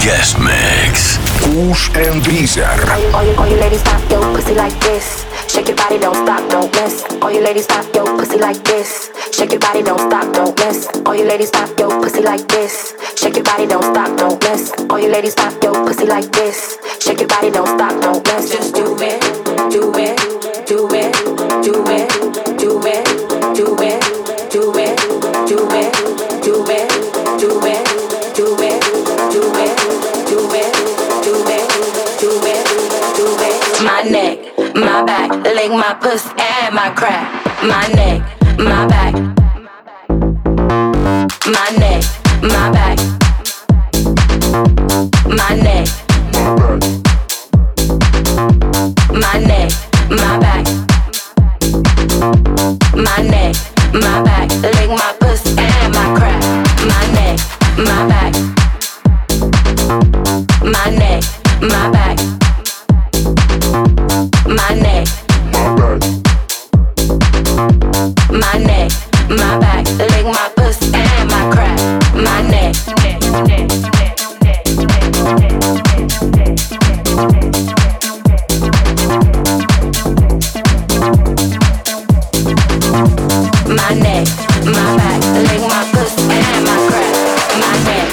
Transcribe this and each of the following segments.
Guest Mix. Kush and Breezer. All you ladies pop your pussy like this. Shake your body, don't stop, don't miss. All you ladies pop your pussy like this. Shake your body, don't stop, don't miss. All you ladies pop your pussy like this. Shake your body, don't stop, don't miss. All you ladies pop your pussy like this. Shake your body, don't stop, don't miss. Just do it, do it, do it, do it, do it, do it, do it, do it, do it, do it, do it, do it, do it, do it, do it, do it. My neck, my back, lick my pussy and my crack. My neck, my back, my neck, my back, my neck, my neck, my back, my neck, my back, lick my pussy and my crack. My neck, my back, my neck, my back, my neck, my neck, my back, lick my pussy and my crack. My neck. My neck, my back, lick my pussy and my crack. My neck.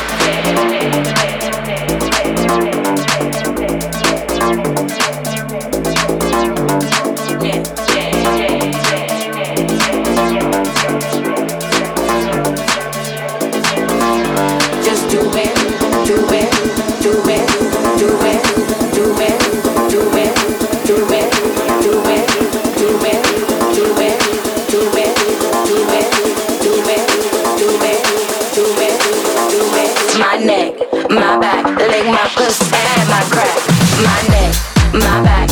Just do it, do it, do it, do it, do it, do it, do it, do it, do it, do it, do it, do it, do it, do it, do it, do it. My neck, my back, lick my pussy and my crack. My neck, my back,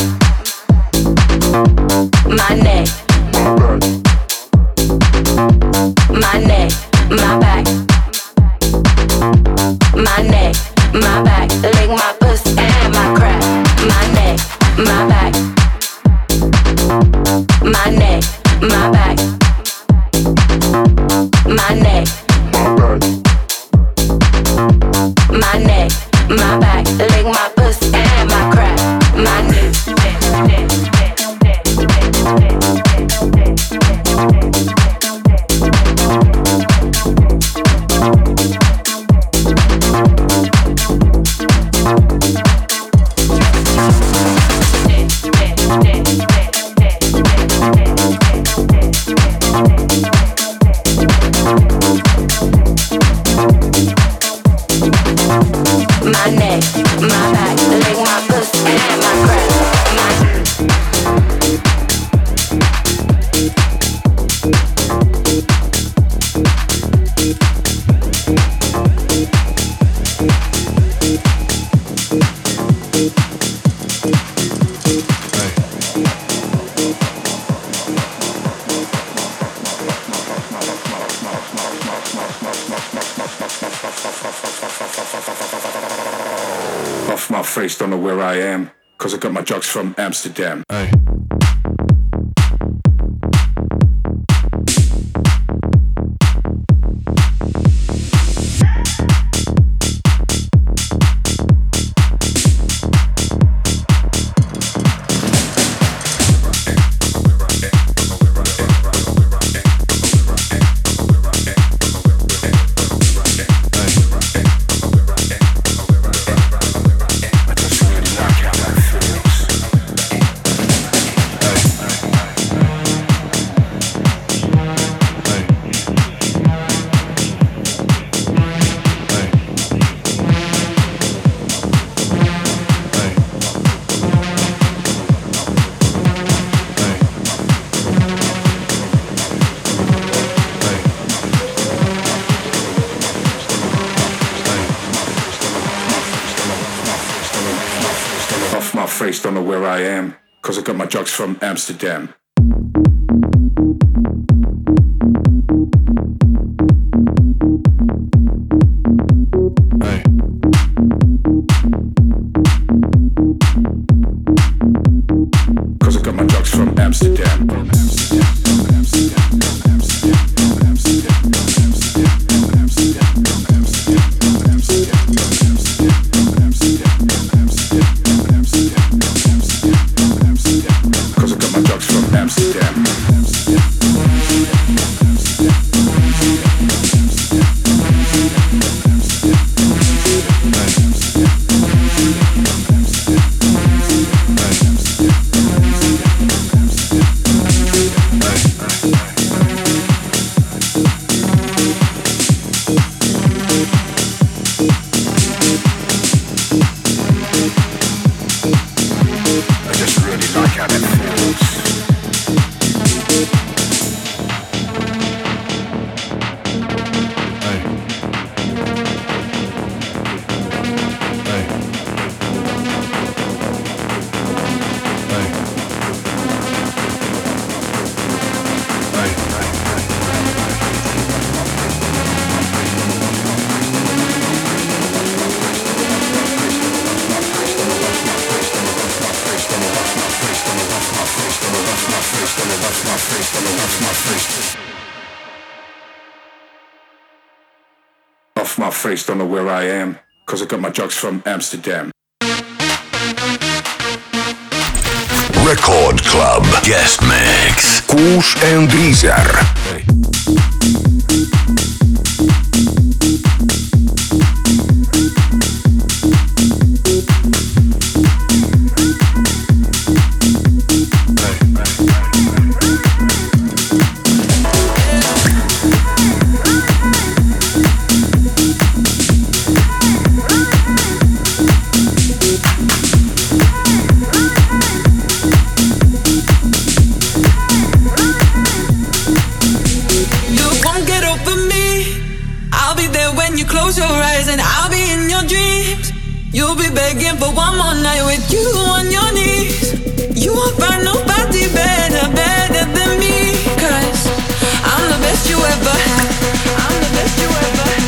my neck, my neck, my back, my neck, my back, lick my pussy and my crack. My neck, my back, my neck, my back, my neck, my neck, my back, lick my pussy and my crack. My neck. My neck, my back, lick my pussy and my crack. Off my face, don't know where I am, cause I got my drugs from Amsterdam. Hey. Face, don't know where I am, cause I got my drugs from Amsterdam. Hey. Cause I got my drugs from Amsterdam. Amsterdam. my face, don't know where I am, cause I got my drugs from Amsterdam. Record Club Guest Mix. Kush and Breezer. Hey. You'll be begging for one more night with you on your knees. You won't find nobody better than me. 'Cause I'm the best you ever had. I'm the best you ever had.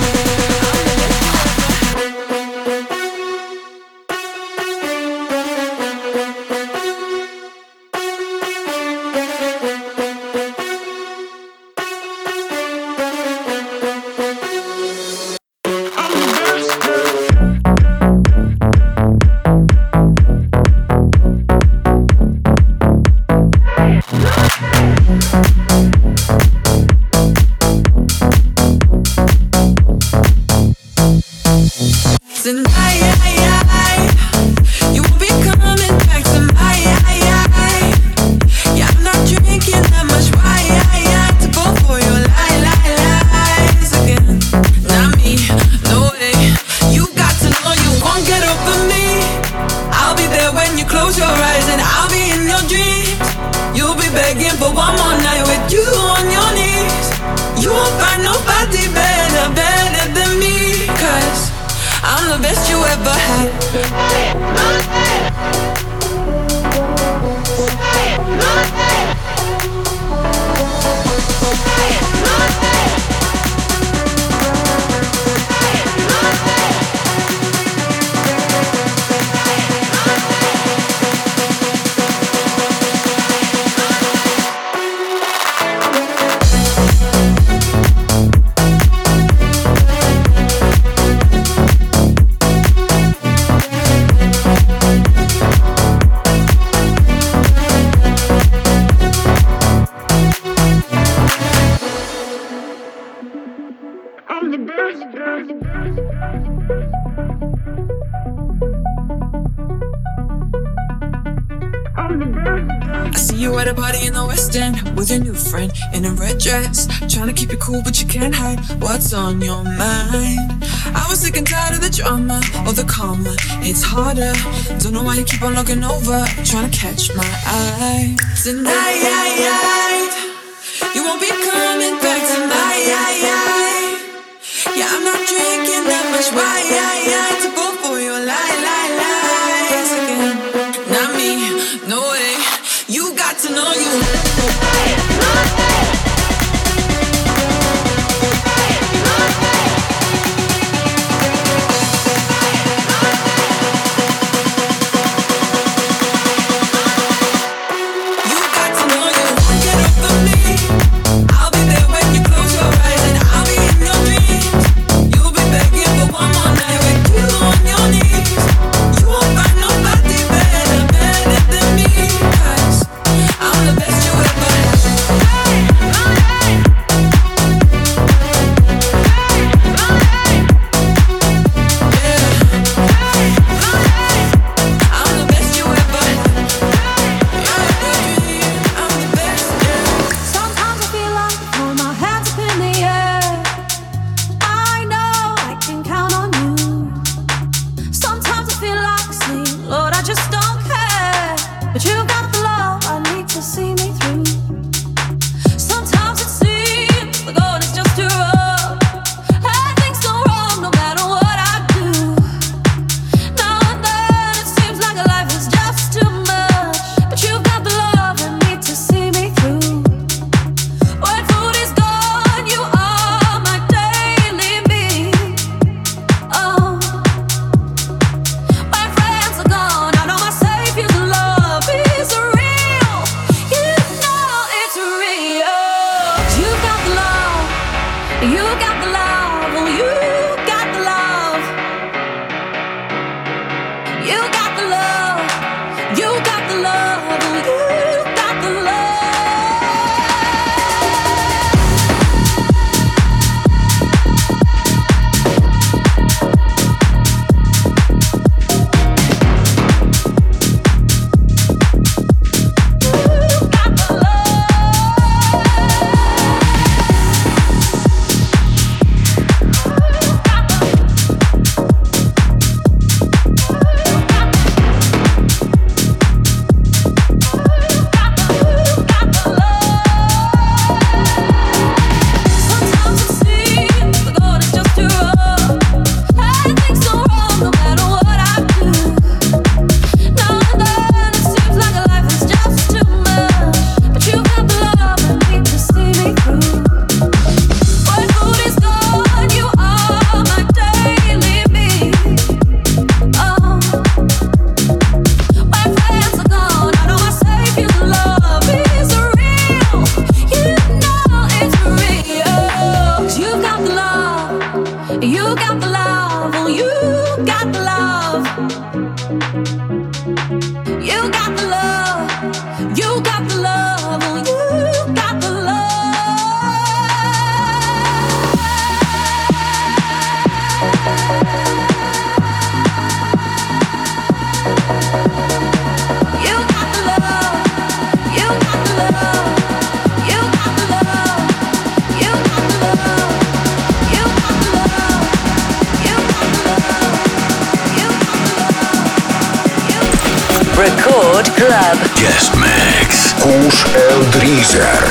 With your new friend in a red dress, trying to keep you cool but you can't hide what's on your mind. I was sick and tired of the drama, or the karma, it's harder. Don't know why you keep on looking over, trying to catch my eye. Tonight, you won't be coming back tonight. Yeah, I'm not drinking that much wine to go for your lies again. Not me, no way. You got to know you. You'll be begging for one more night with you. You got the love, oh, you got the love. You got the love, you got the love, oh, you got the love. You got the love, you got the love, you got the love, you got the love, you got the love, you got the love, you got the love. Record Club. Guest Mix. Kush and Reezer.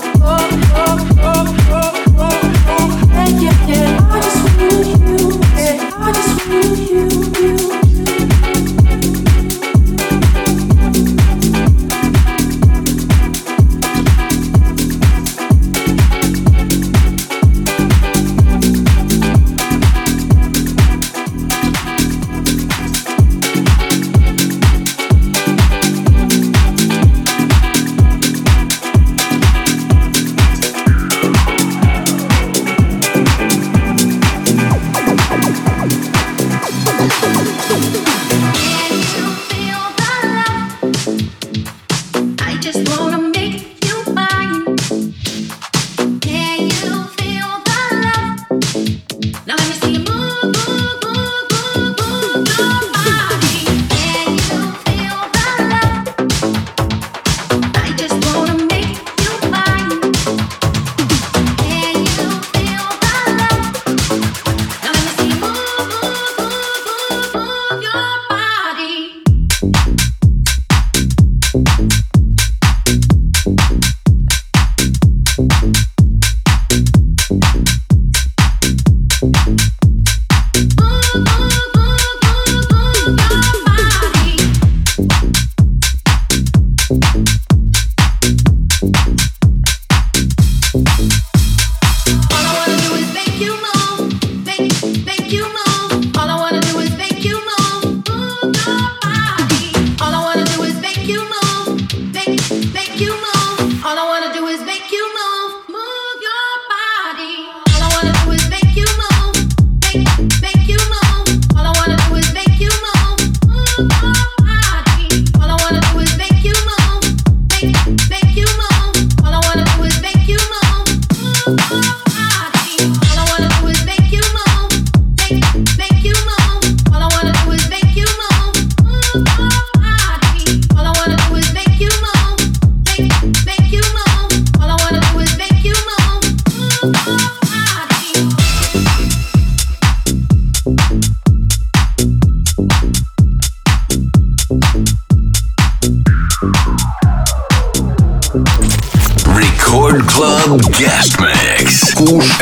Yeah.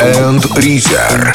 and Reezer.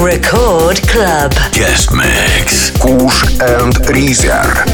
Record Club. Guest Mix. Kush and Reezer.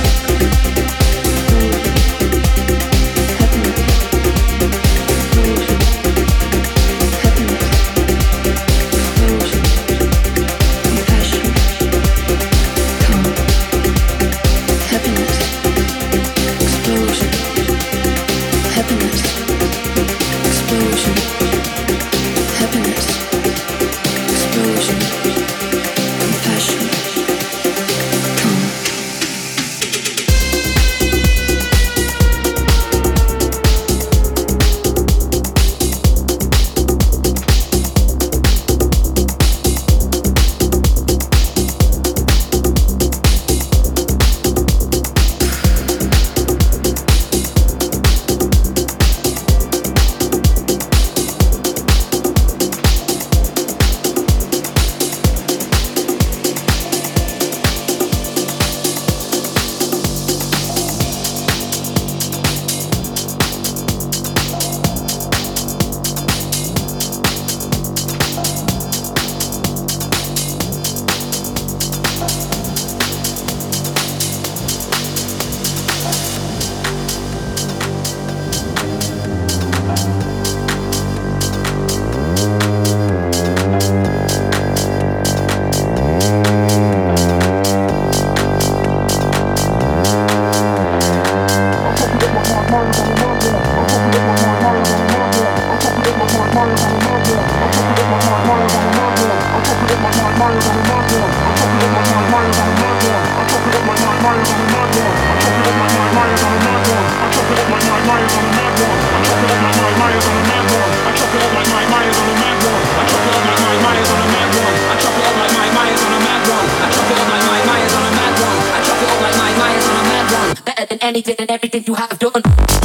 Anything and everything you have done.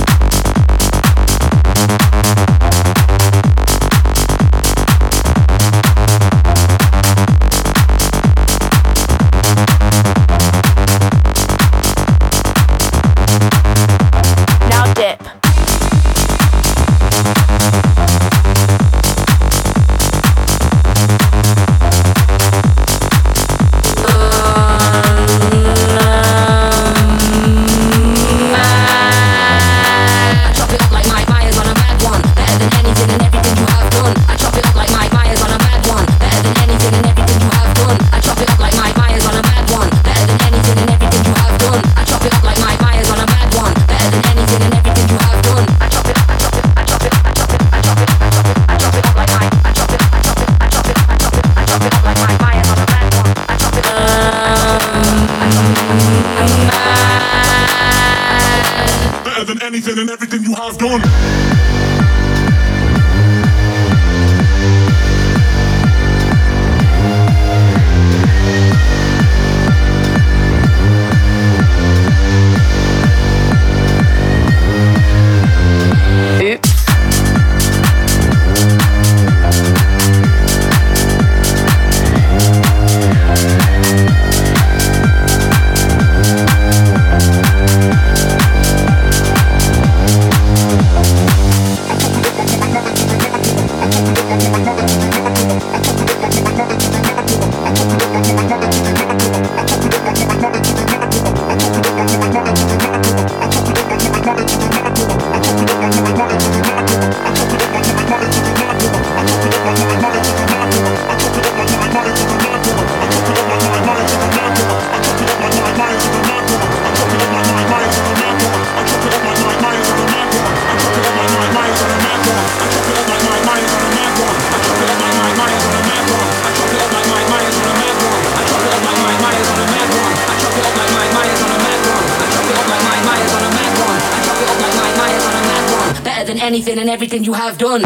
Now dip. Anything and everything you have done. Anything and everything you have done.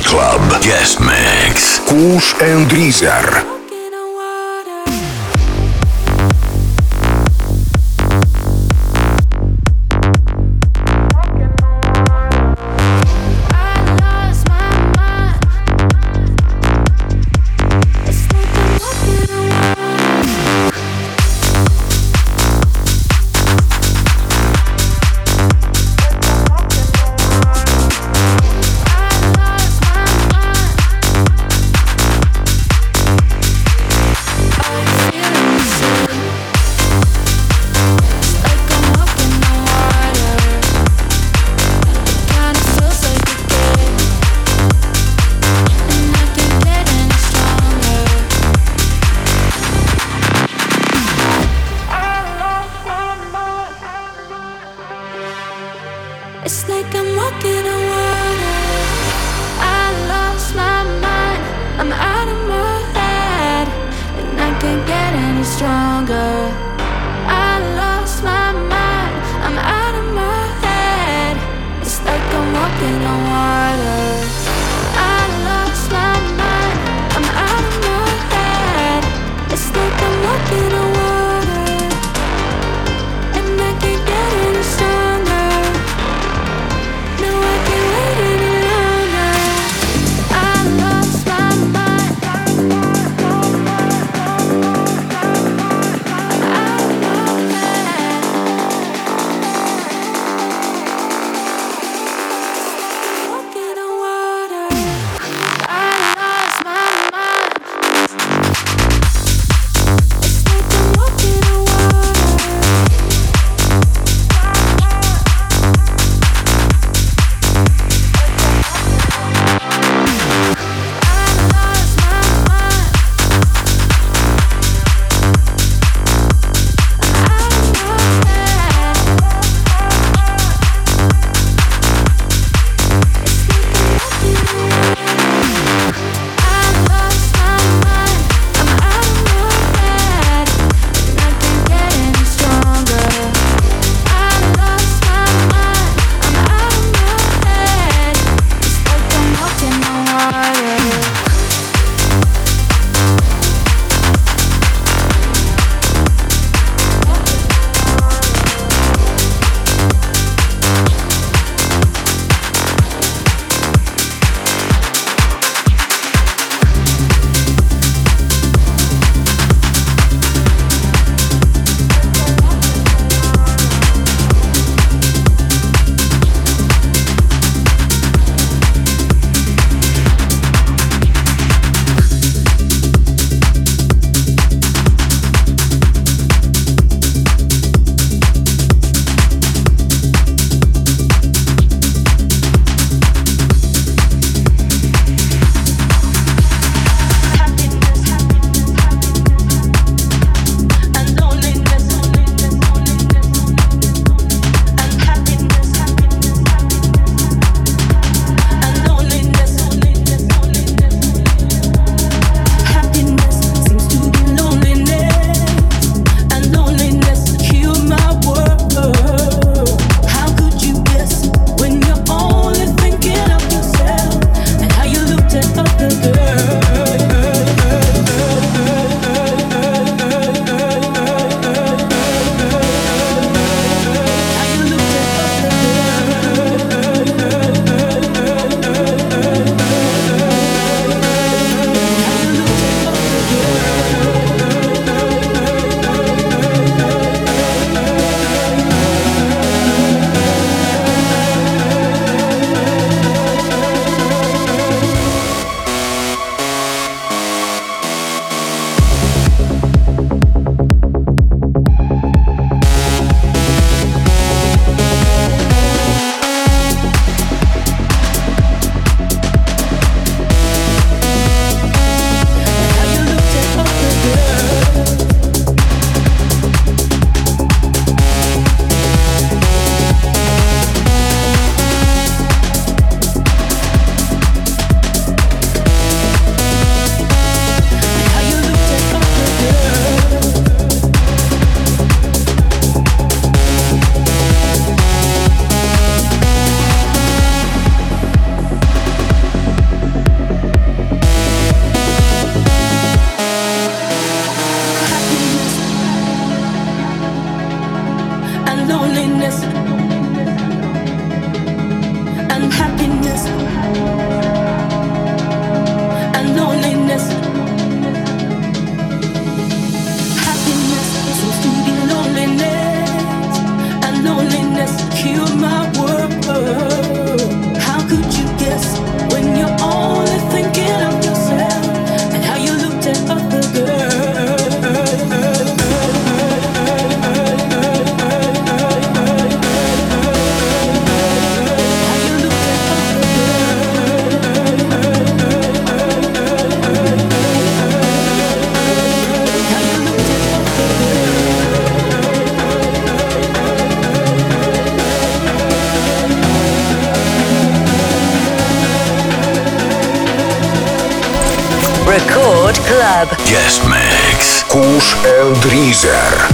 Club Guest Mix. Kush and Rizar. Club. Guest Mix. Kush and Reezer.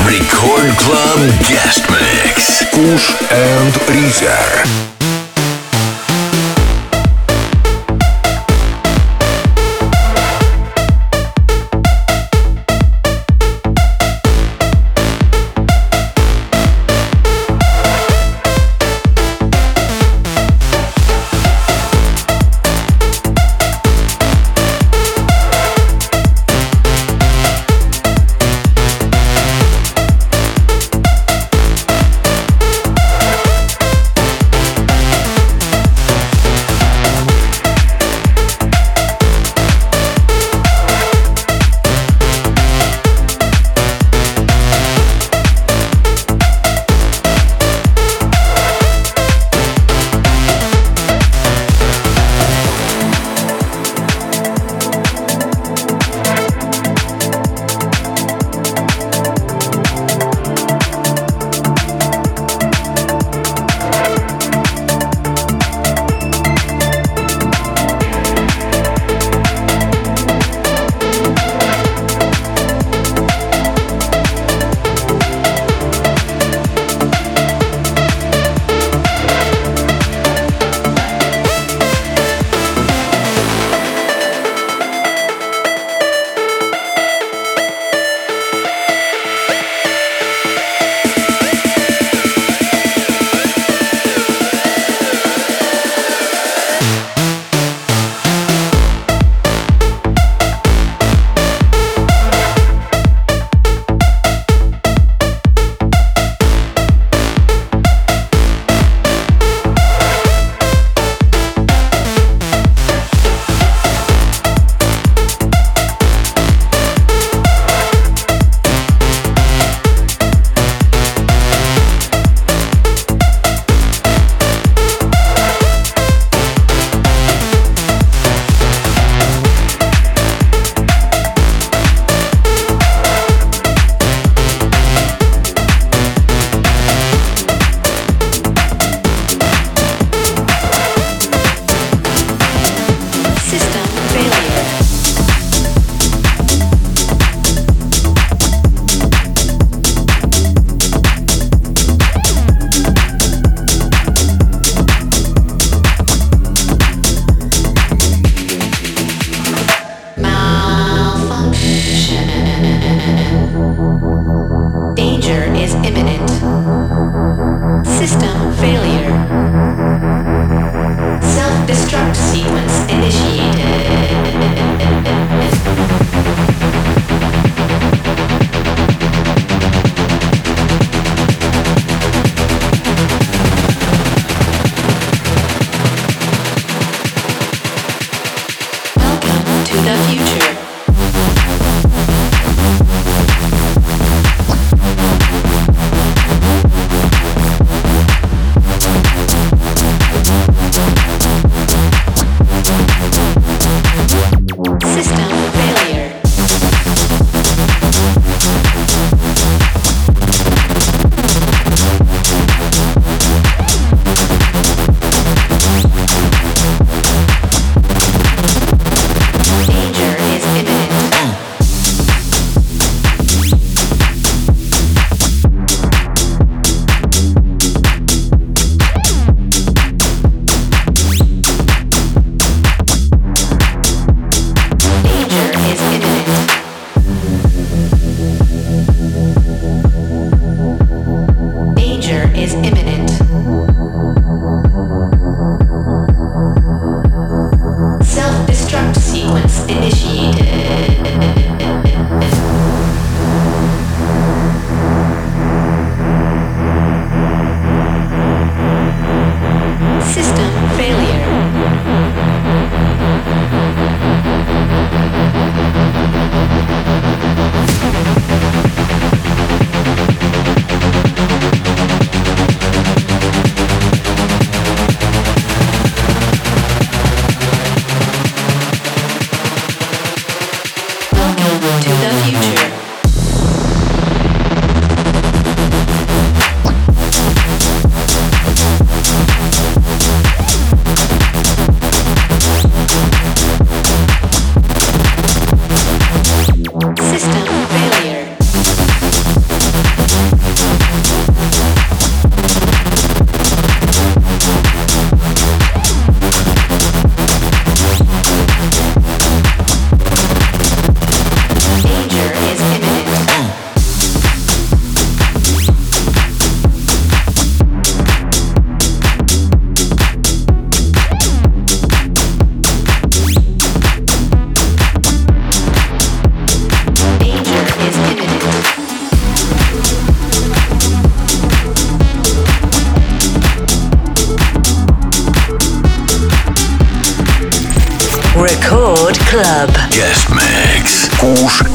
Record Club Guest Mix. Kush and Rizar.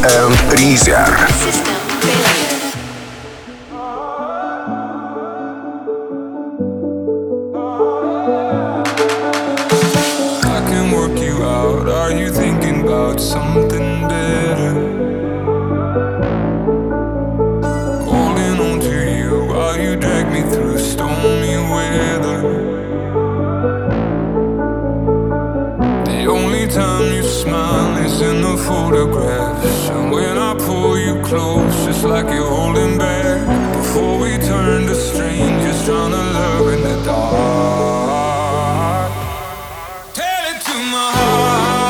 and Reezer. Are you thinking about something better? Holding on to you while you drag me through stormy weather. The only time you smile is in the photographs, and when I pull you close, just like you're holding back. Before we turn to strangers, trying to love in the dark. Tell it to my heart.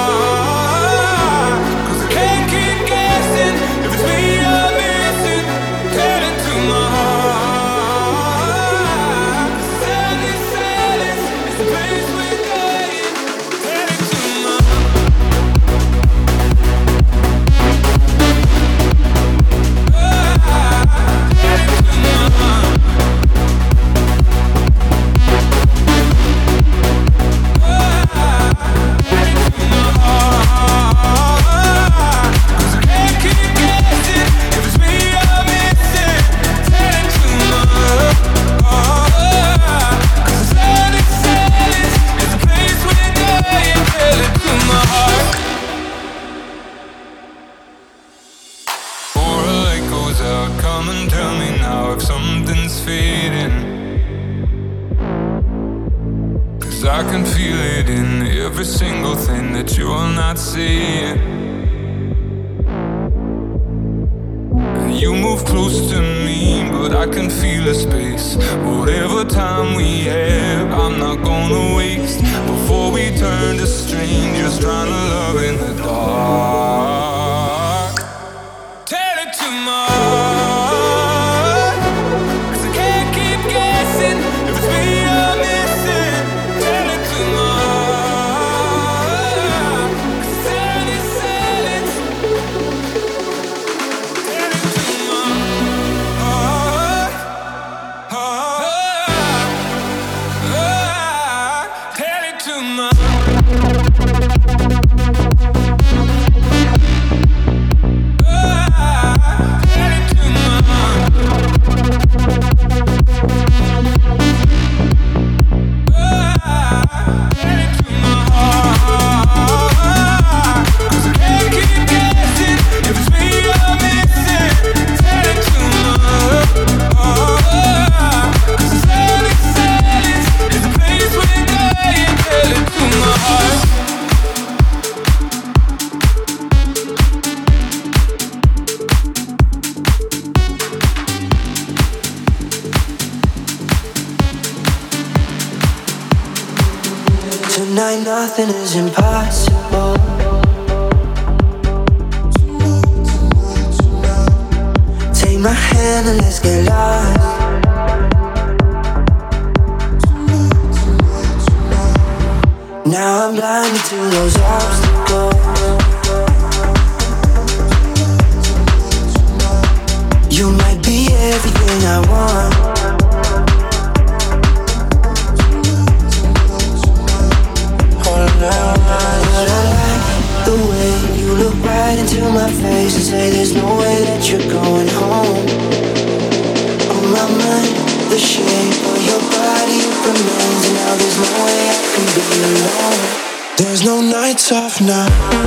I can feel it in every single thing that you're not seeing. You move close to me, but I can feel a space. Whatever time we have, I'm not gonna waste. Before we turn to strangers, trying to love in the dark. Tell it to my heart, 'cause I can't keep guessing if it's me you're missing. Tell it to my heart, 'cause silence. Tell it to my heart. Tell it to my Tonight nothing is impossible. Take my hand and let's get lost. Now I'm blinded to those obstacles. You might be everything I want. But I like the way you look right into my face and say there's no way that you're going home. On my mind, the shape of your body remains, and now there's no way I can be alone. There's no nights off now.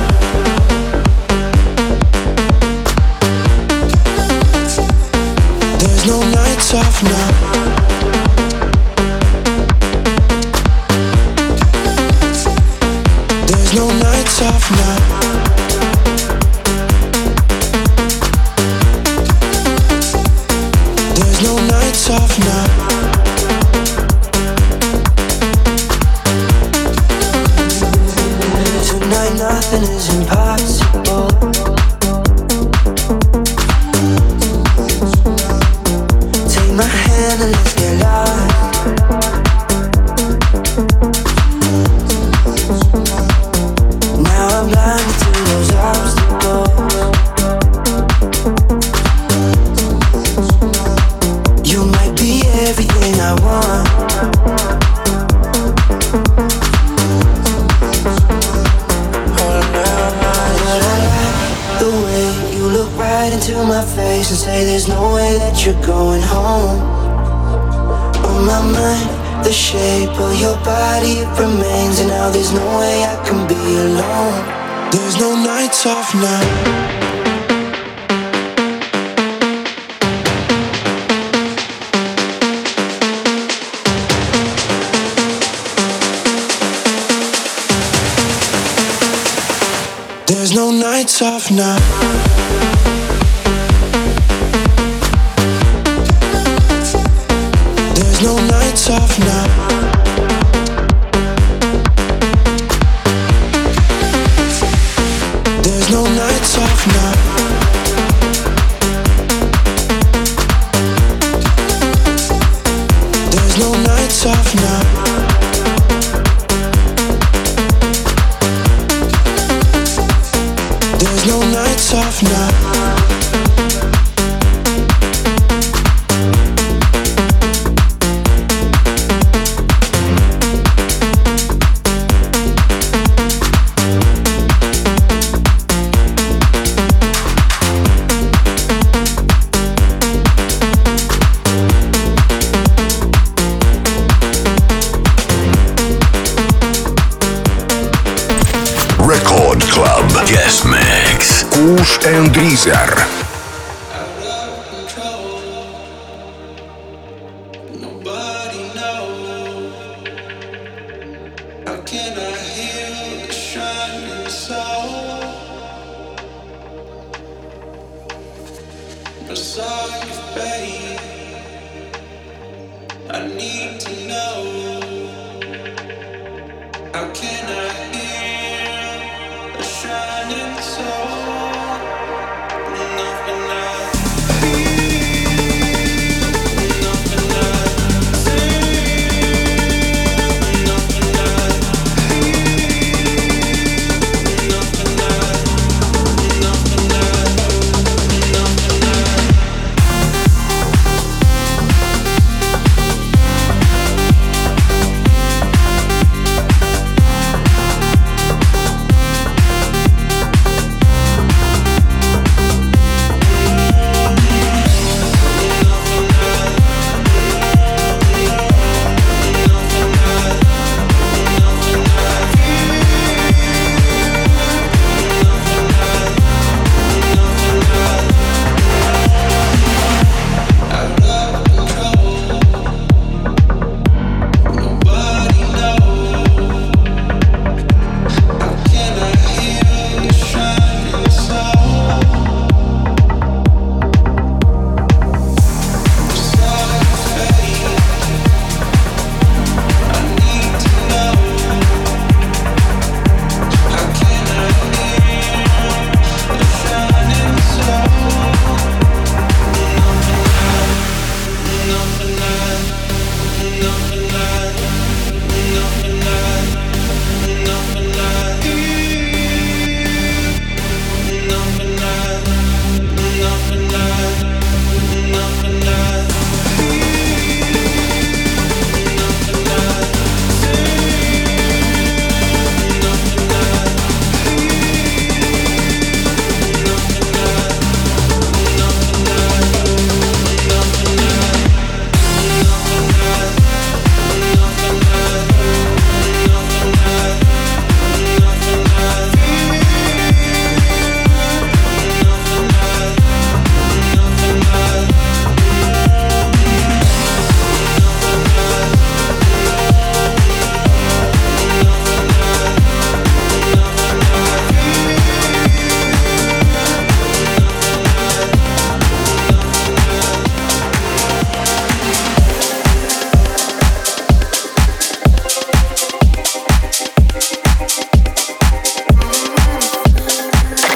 There's no nights off now. No nights off now. There's no nights off now. Tonight nothing is impossible. Take my hand and right into my face and say there's no way that you're going home. On my mind, the shape of your body, it remains, and now there's no way I can be alone. There's no nights off now. There's no nights off now. There's no nights off now. There's no nights off now. There's no nights off now. There's no nights off now. Record Club Guest Mix. Kush and Rizar.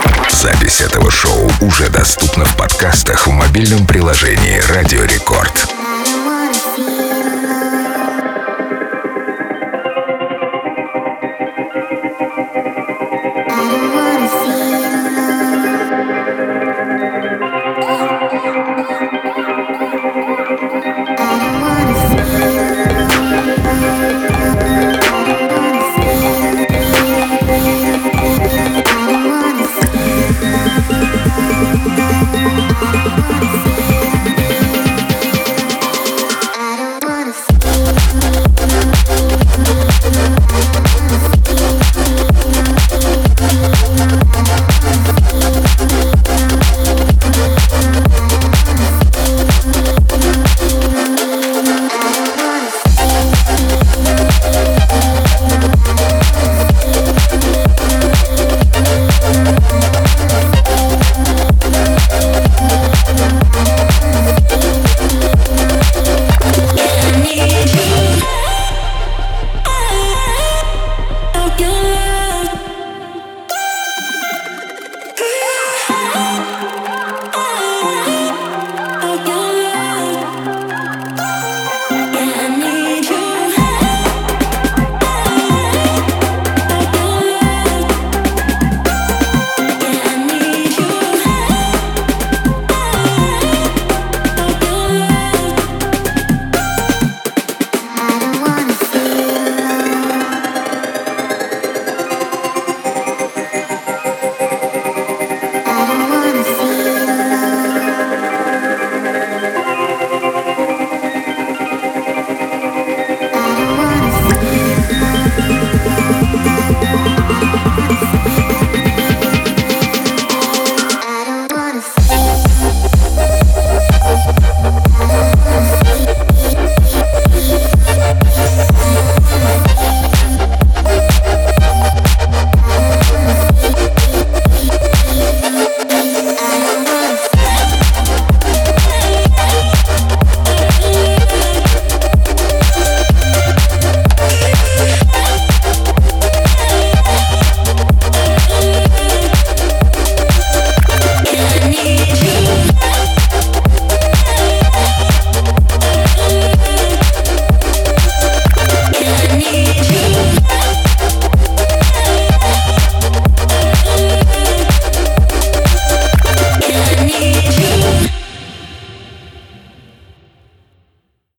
Запись этого шоу уже доступна в подкастах в мобильном приложении «Радио Рекорд».